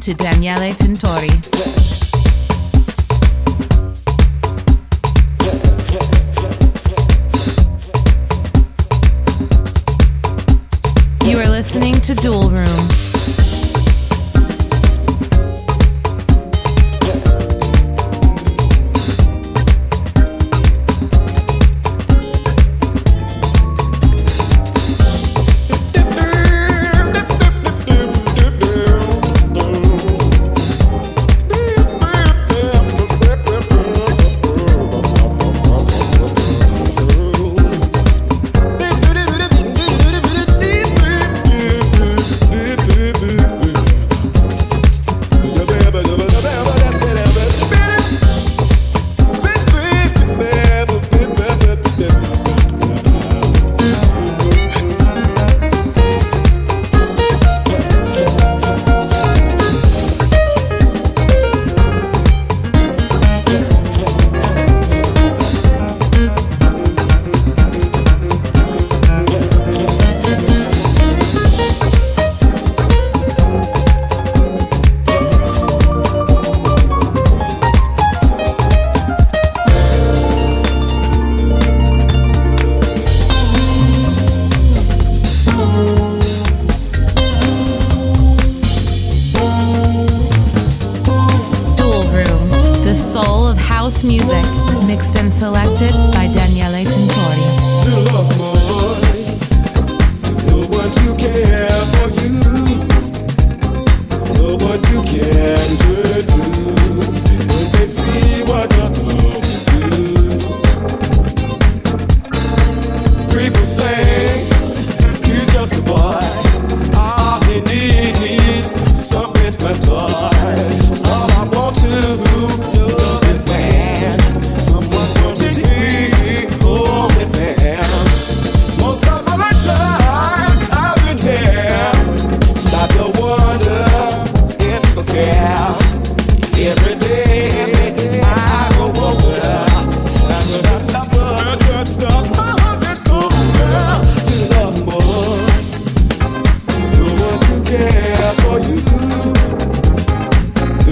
to Daniele Tintori. You are listening to Dual Room. Music, mixed and selected by Daniele Tintori. Love boy, no one to care for you, no one you can turn to when they see what you're going through. People say he's just a boy, all he needs some Christmas toys. All I want to love is man, someone to take home with them. Most of my lifetime I've been here. Stop your wonder if you care. Every day I go over. That's the best stuff, good stuff. My heart is cool, girl. You love more. No one to care for you.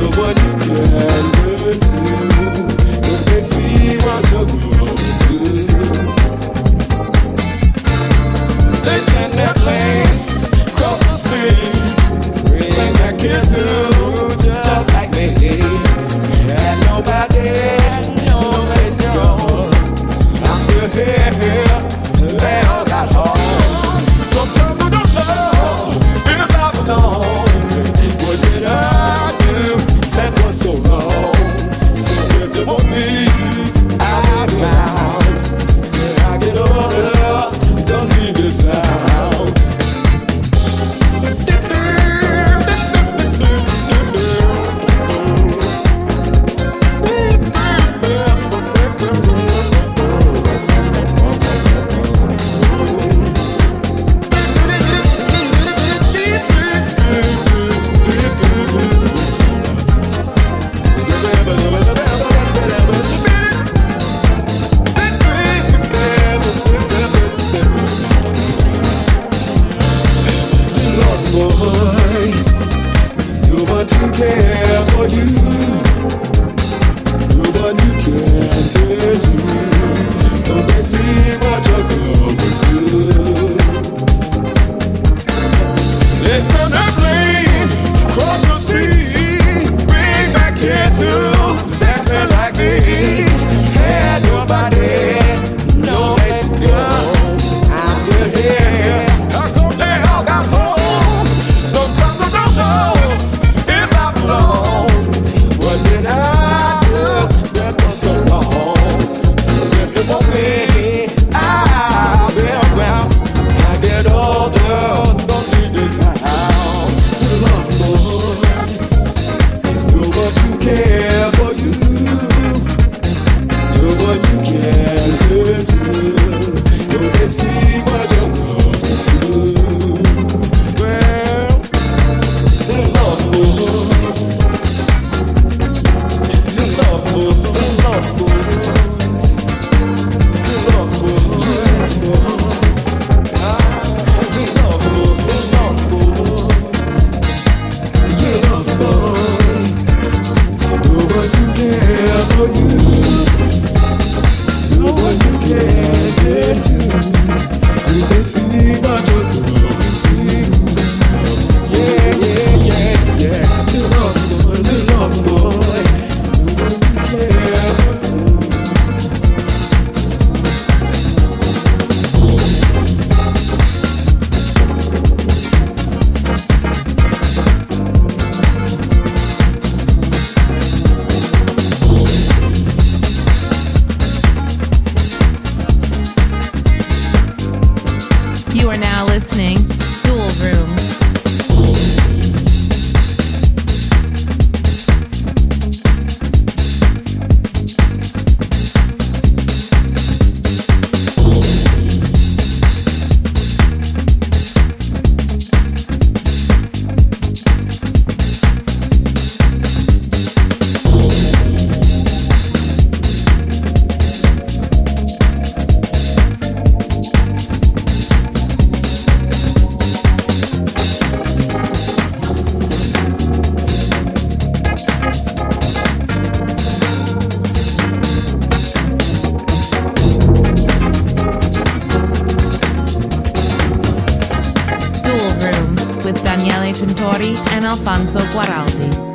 Alfonso Guaraldi.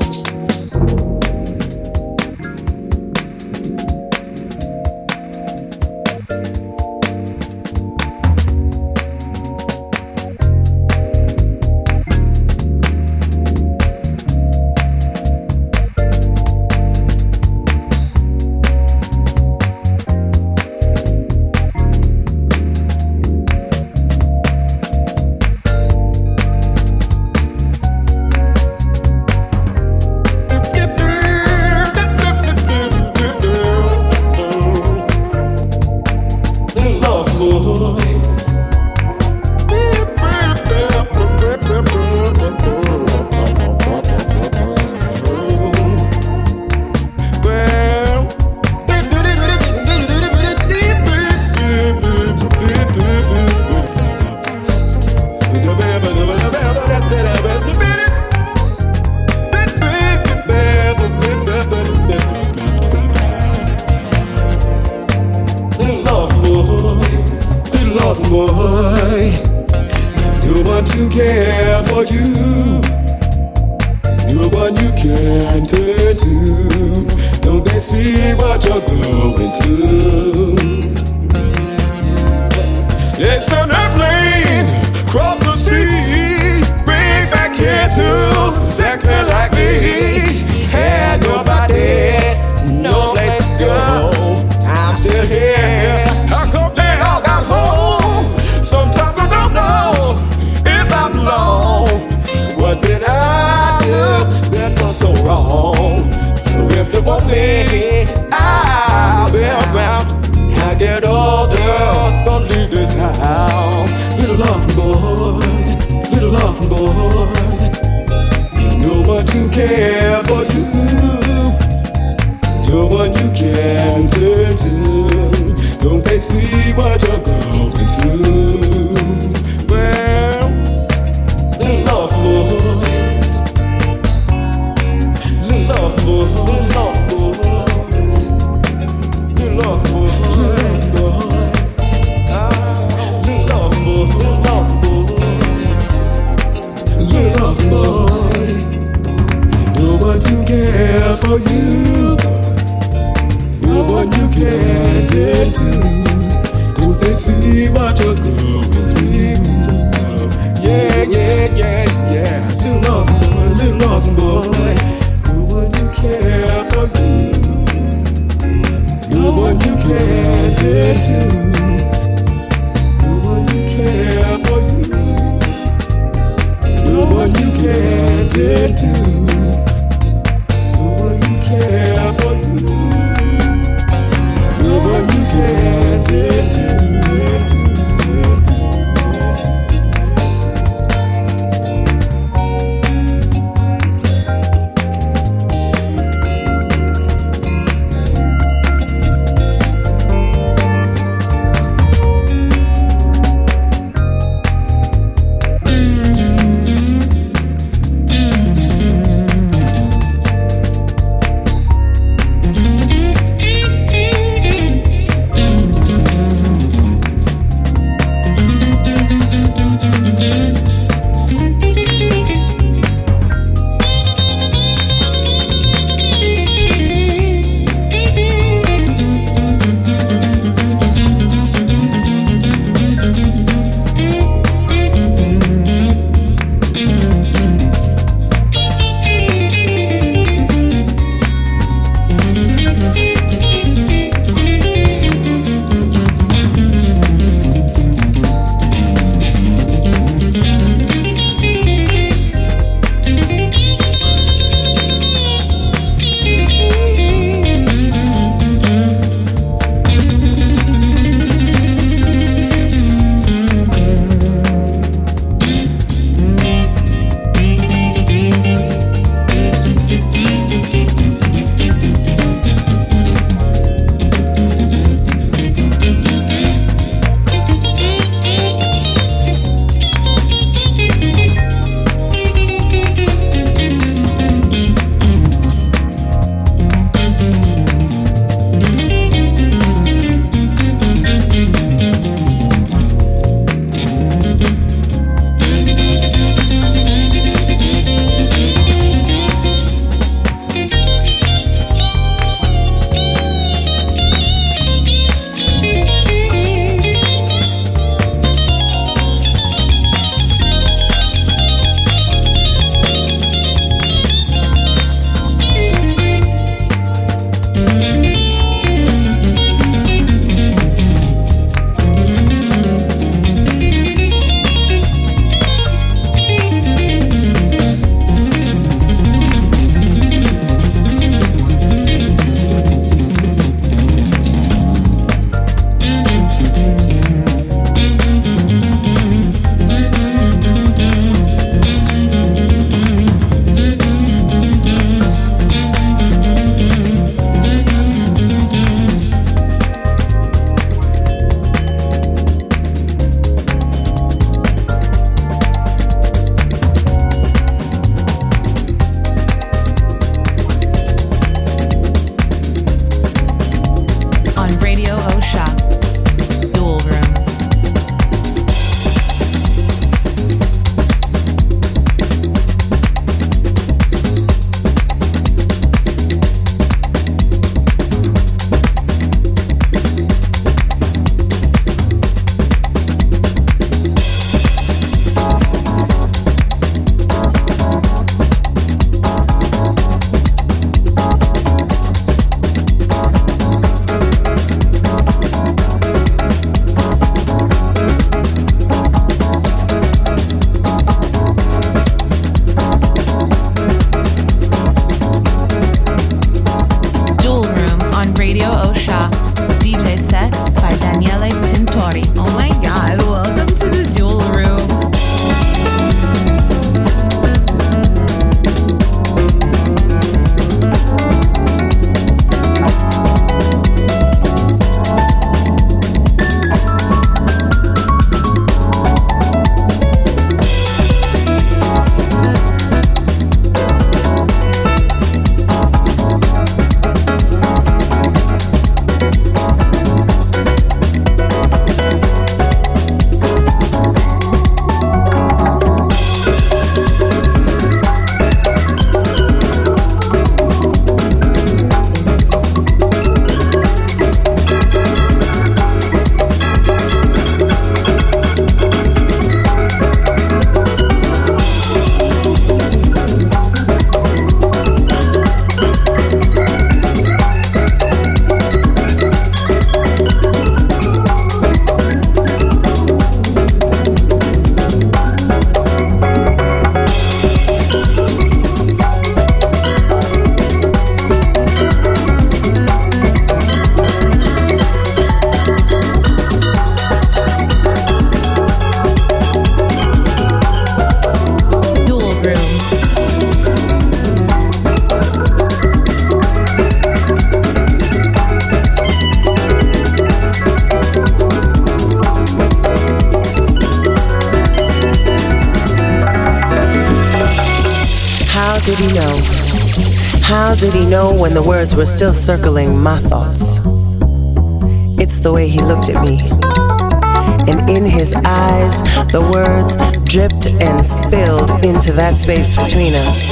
How did he know when the words were still circling my thoughts? It's the way he looked at me. And in his eyes, the words dripped and spilled into that space between us.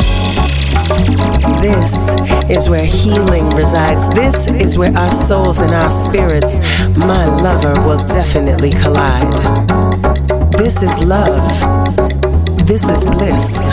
This is where healing resides. This is where our souls and our spirits, my lover, will definitely collide. This is love. This is bliss.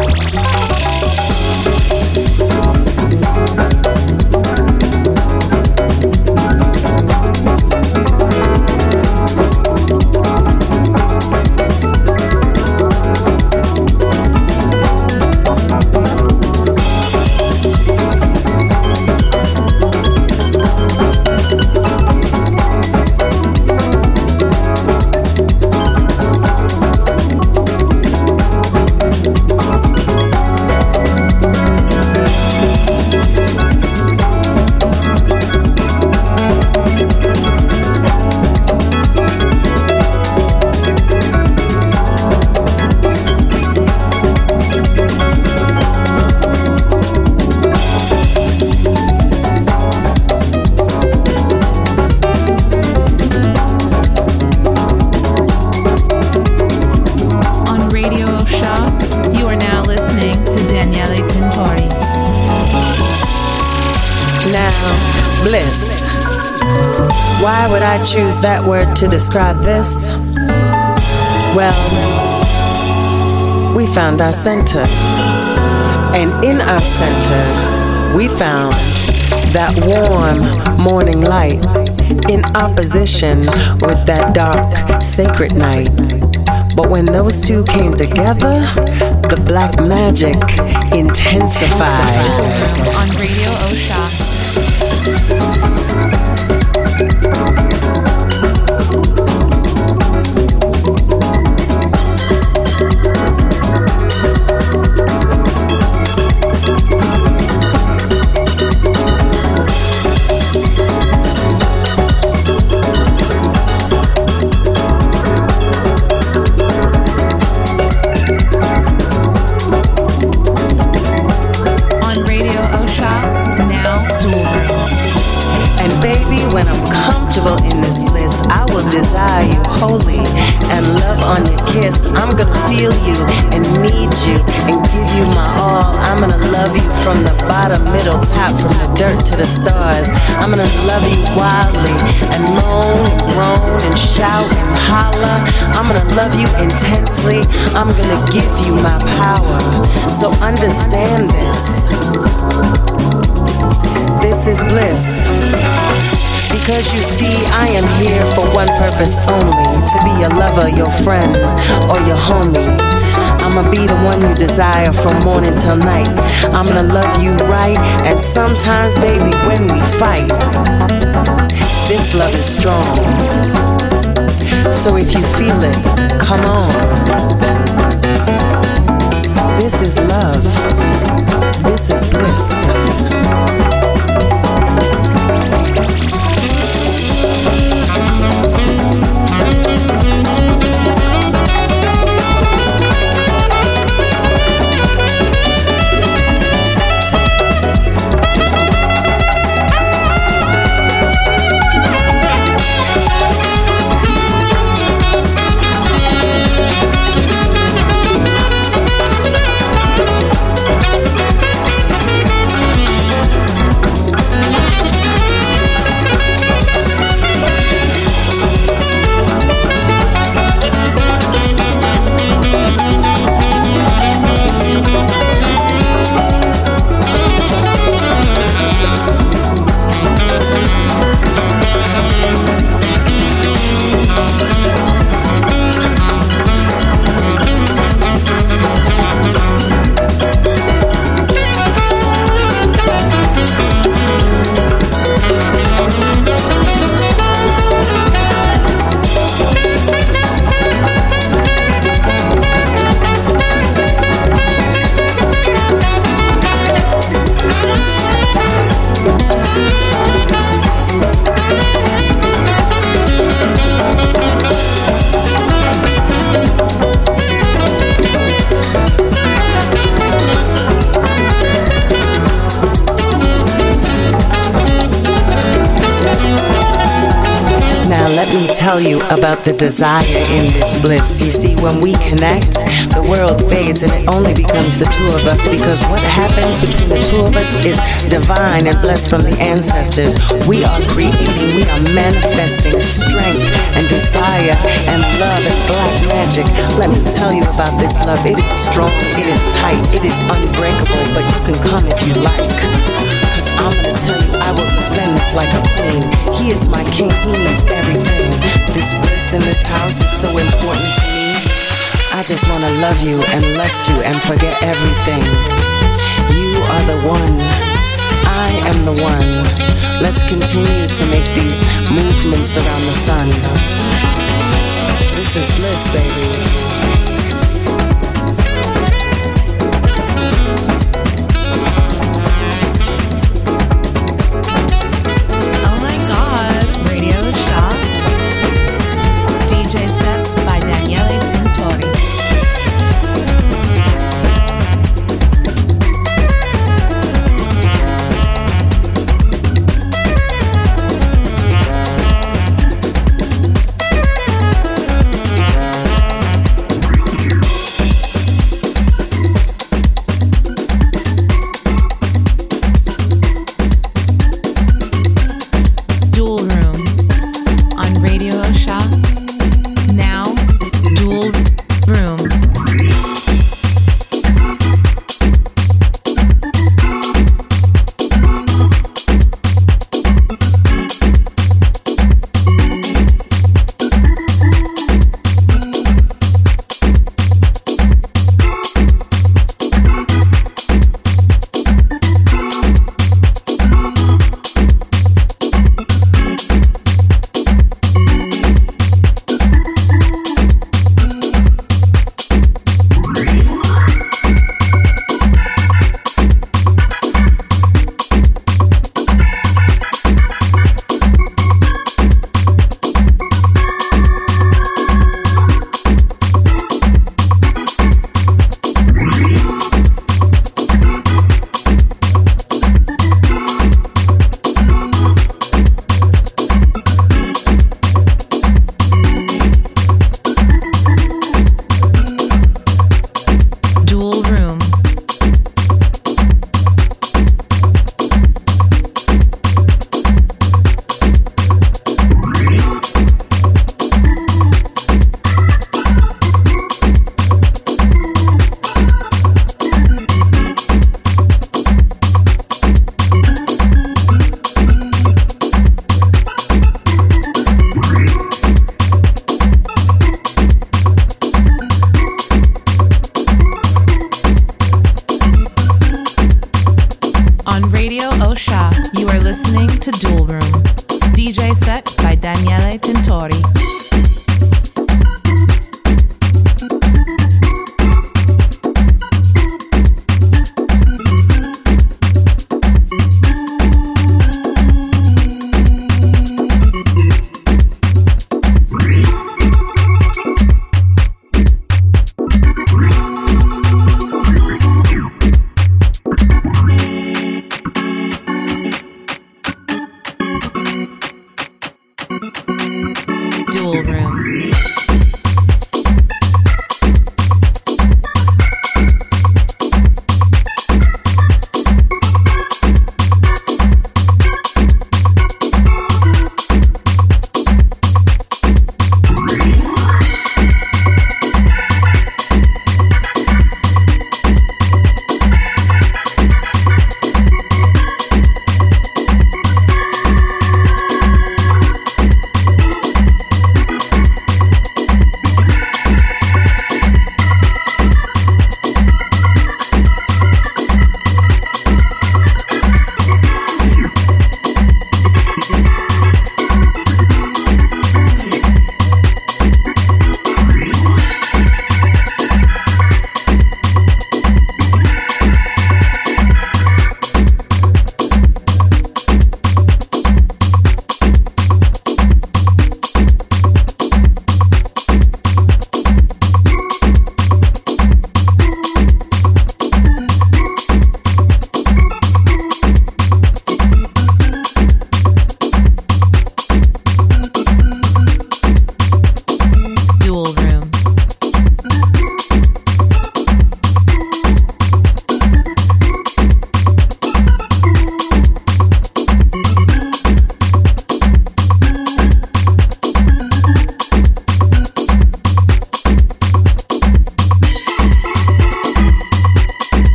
Bliss. Why would I choose that word to describe this? Well, we found our center. And in our center, we found that warm morning light in opposition with that dark, sacred night. But when those two came together, the black magic intensified. On Radio Osha. I'm gonna feel you and need you and give you my all. I'm gonna love you from the bottom, middle, top, from the dirt to the stars. I'm gonna love you wildly and moan and groan and shout and holler. I'm gonna love you intensely. I'm gonna give you my power. So understand this. This is bliss. Because you see, I am here for one purpose only, to be your lover, your friend, or your homie. I'ma be the one you desire from morning till night. I'm gonna love you right, and sometimes, baby, when we fight, this love is strong. So if you feel it, come on. This is love. This is bliss. tell you about the desire in this bliss. You see, when we connect, the world fades and it only becomes the two of us, because what happens between the two of us is divine and blessed from the ancestors. We are creating, we are manifesting strength and desire and love and black magic. Let me tell you about this love. It is strong, it is tight, it is unbreakable, but you can come if you like. Cause I'm gonna tell you, I will defend this like a queen. He is my king, he needs everything. This bliss in this house is so important to me. I just wanna love you and lust you and forget everything. You are the one, I am the one. Let's continue to make these movements around the sun. This is bliss, baby.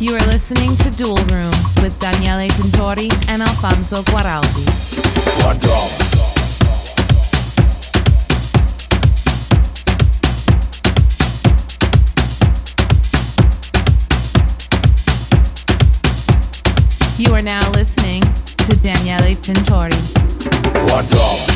You are listening to Dual Room with Daniele Tintori and Alfonso Guaraldi. One drop. You are now listening to Daniele Tintori. One drop.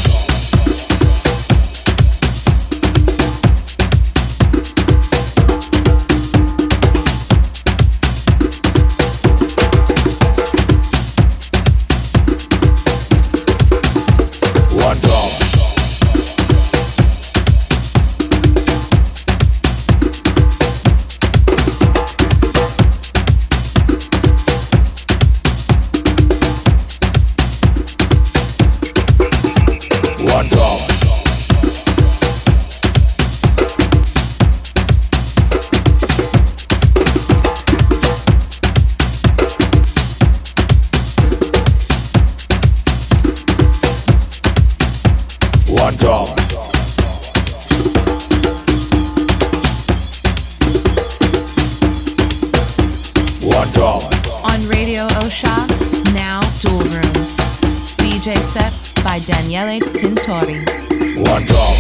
On Radio Osha, now Dual Room. DJ set by Daniele Tintori. One drop.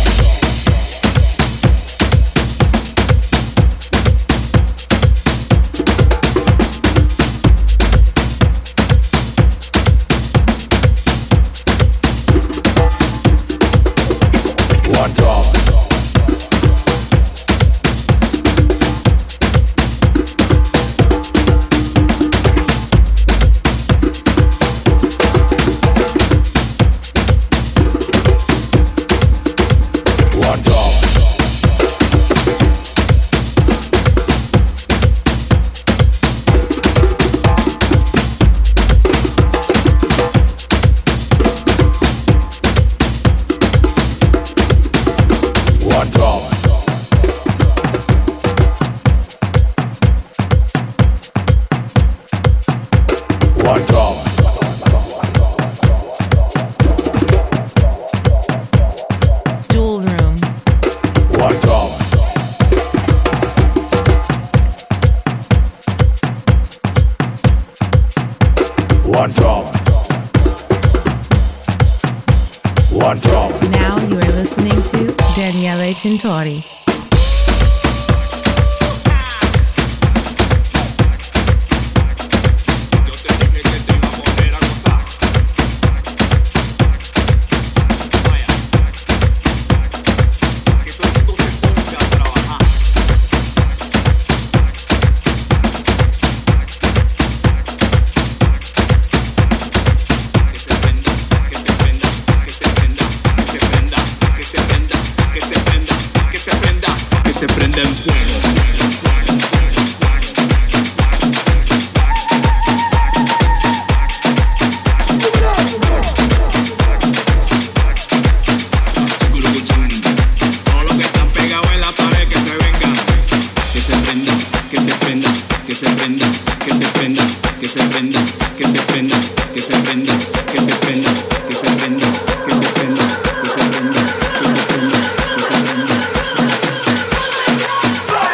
Now you are listening to Daniele Tintori. Se prende en fuego. Todos los que están pegados en la pared que se vengan. Que se prenda, que se prenda, que se prenda, que se prenda, que se prenda, que se prenda, que se prenda, que se prenda, que se prenda, que se prenda, que se prenda, que se prenda, que se prenda.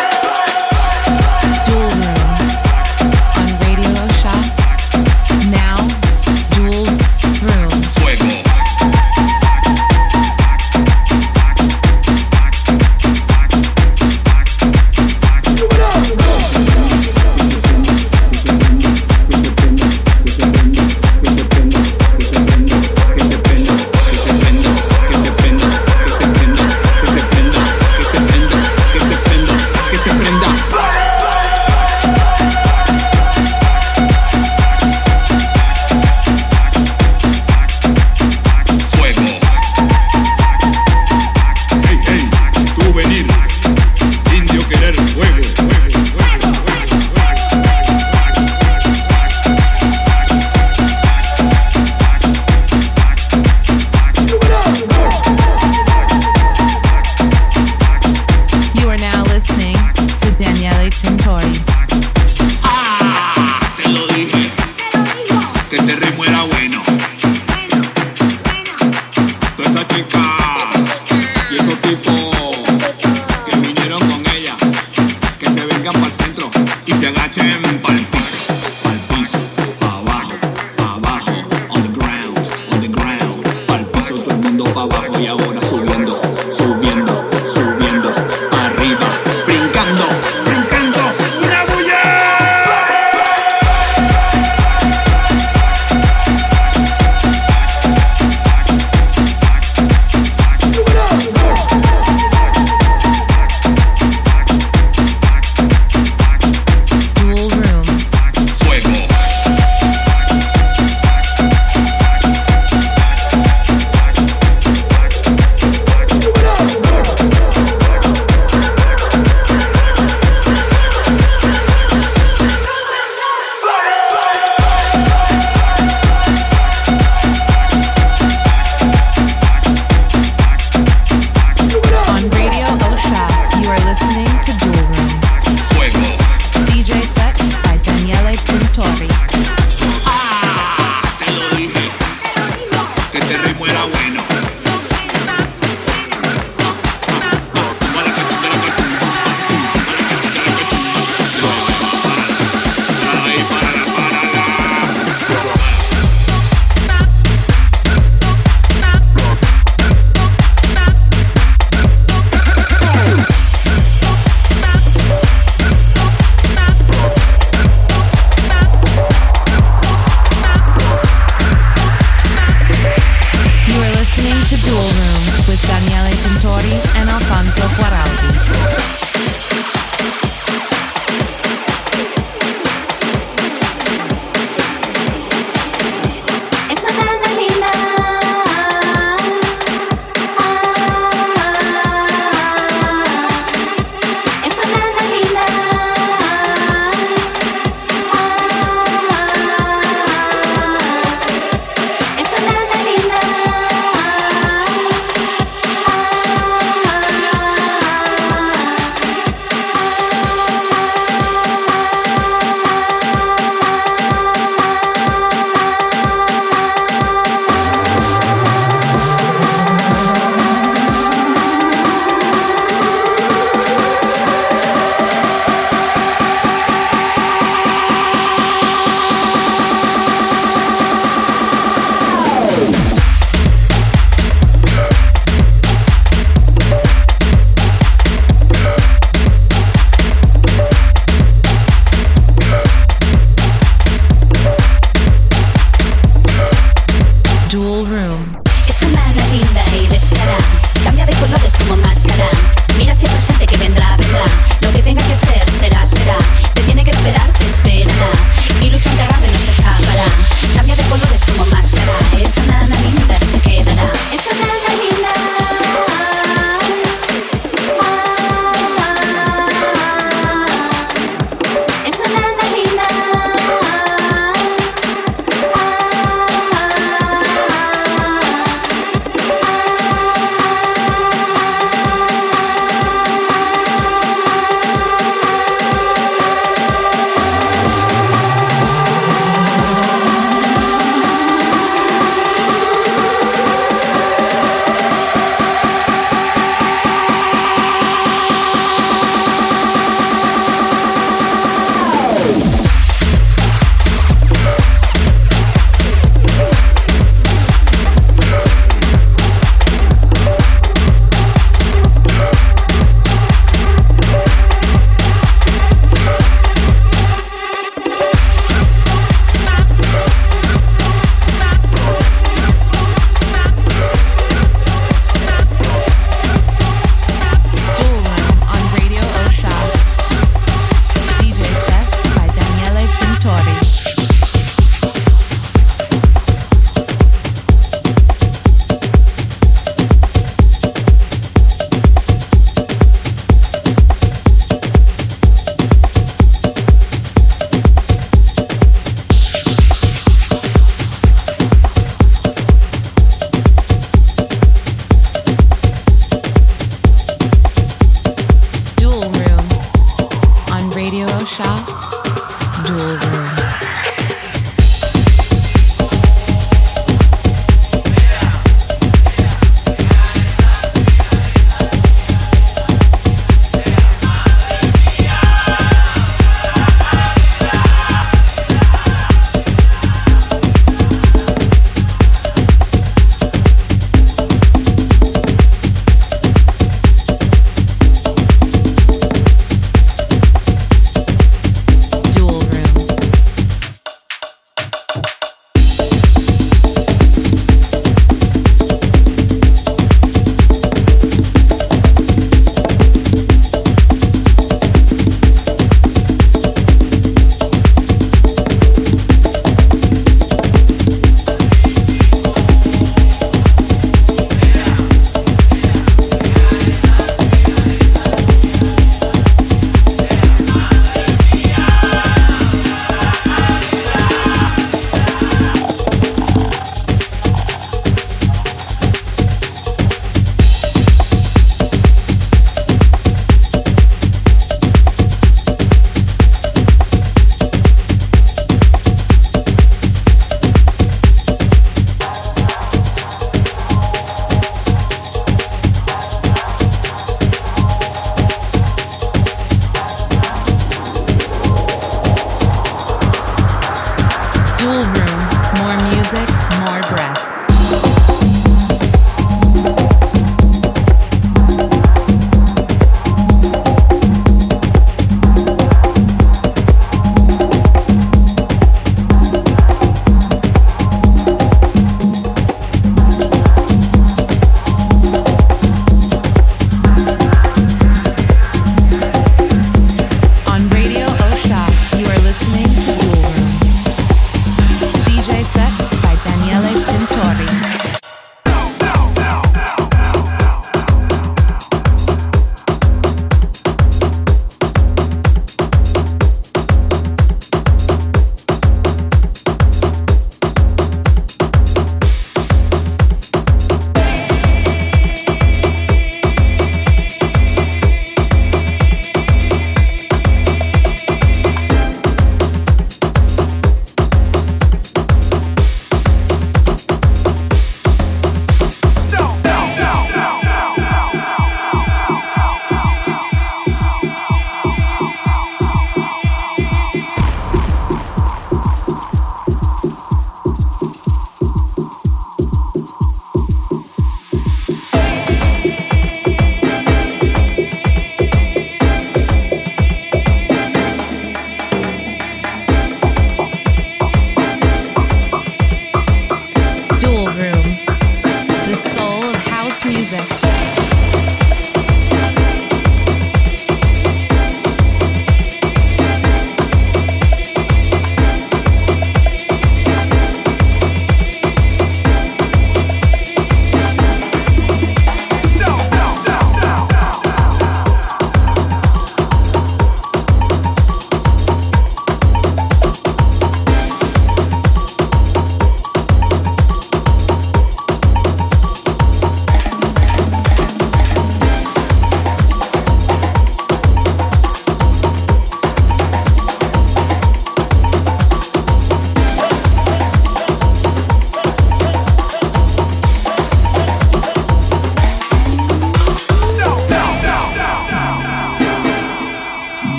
Enzo Guaraldi.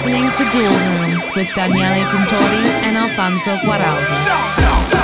listening to Dual Room with Daniele Tintori and Alfonso Guaraldi.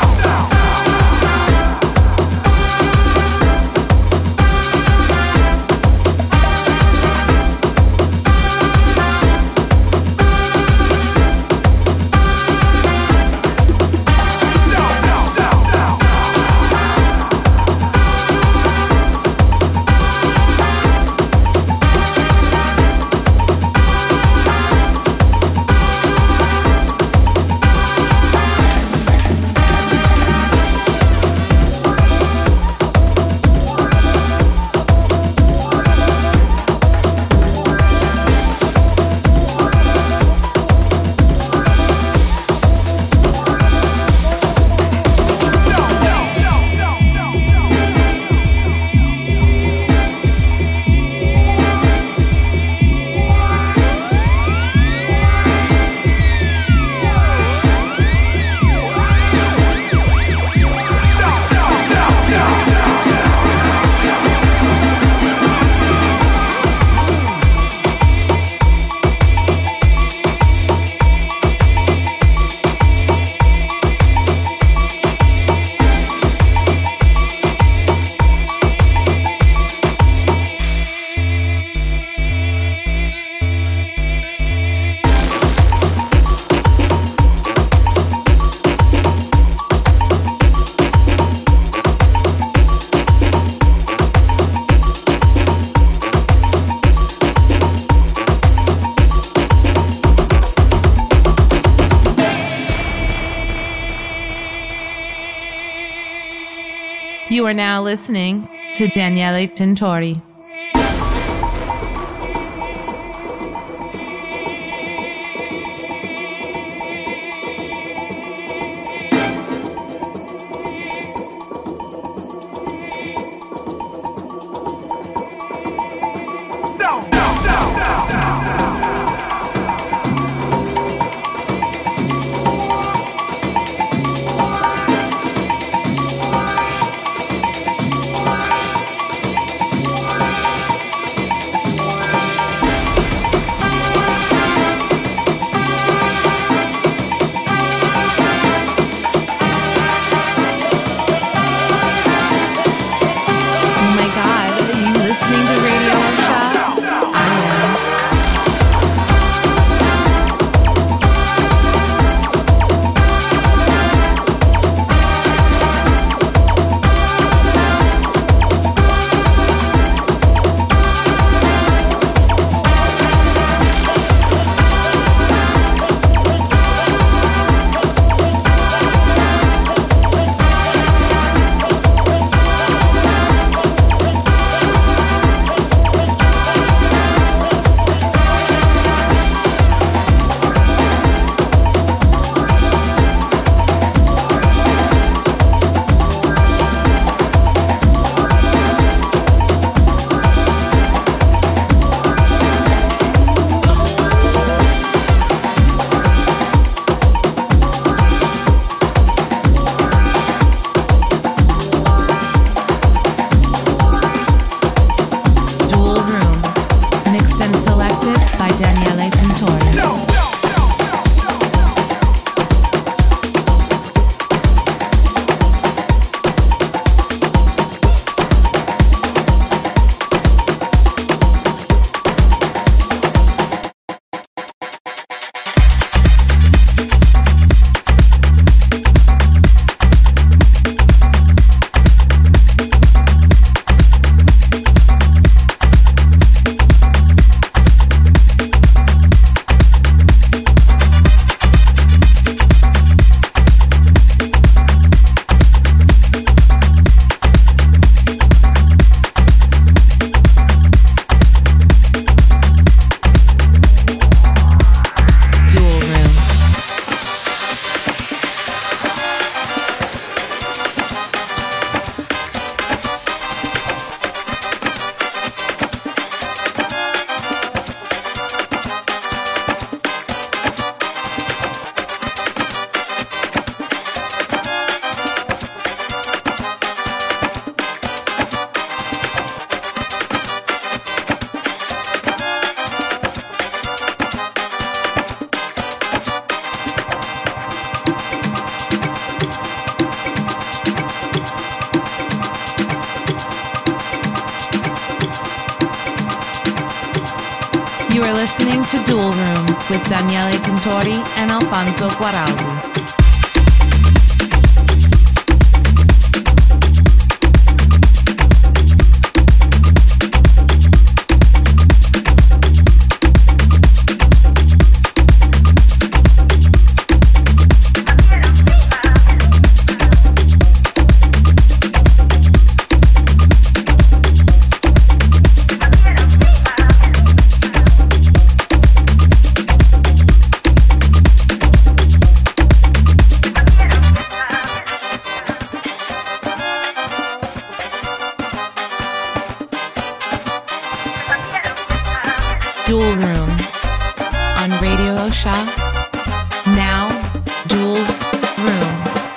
You are now listening to Daniele Tintori. to Dual Room with Daniele Tintori and Alfonso Guaraldi. Dual Room on Radio Osha. Now, Dual Room.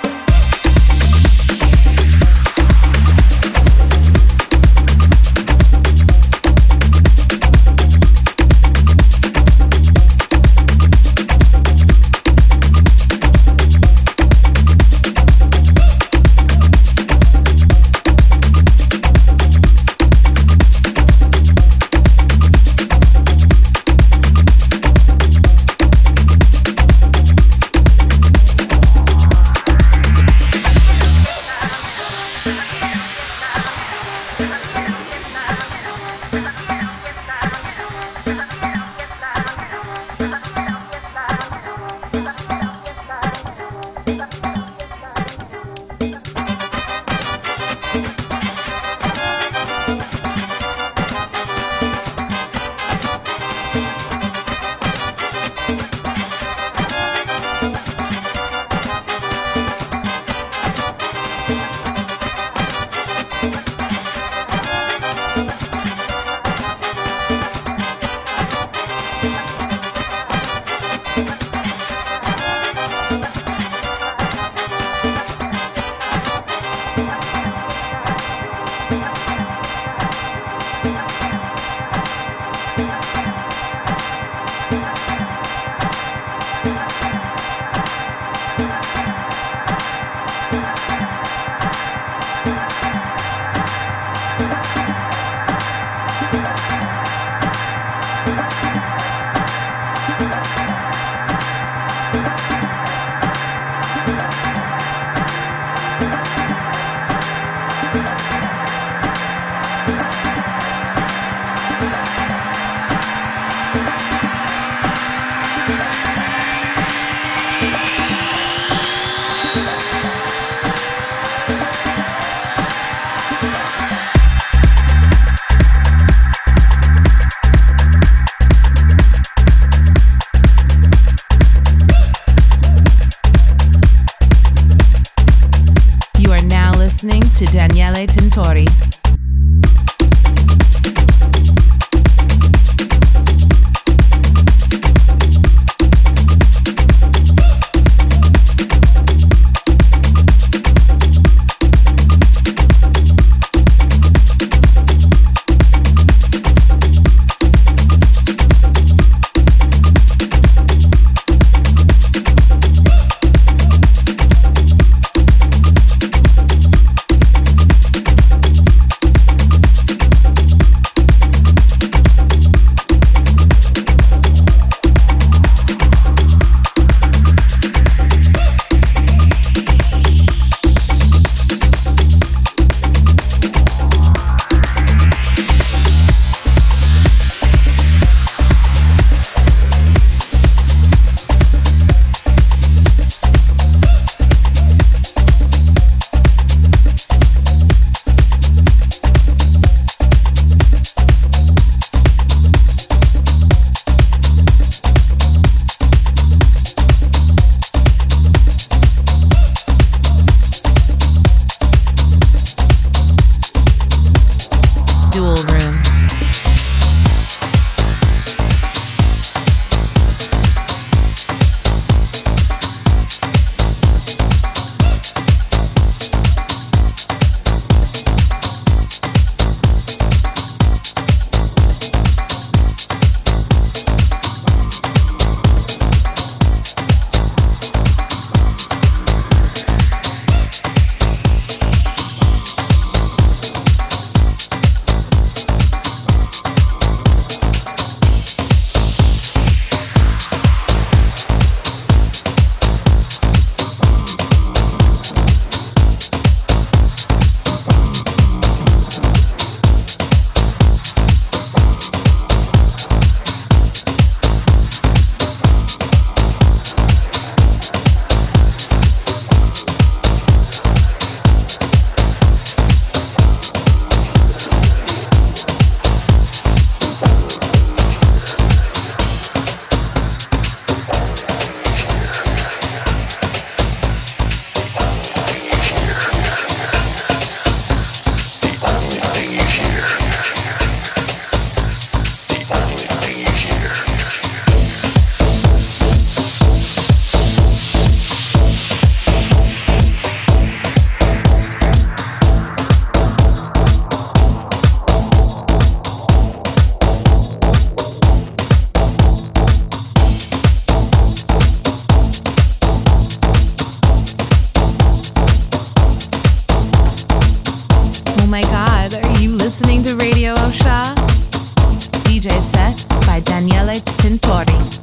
To Daniele Tintori. DJ set by Daniele Tintori.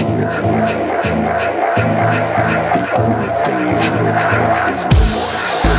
The only thing you hear is no more.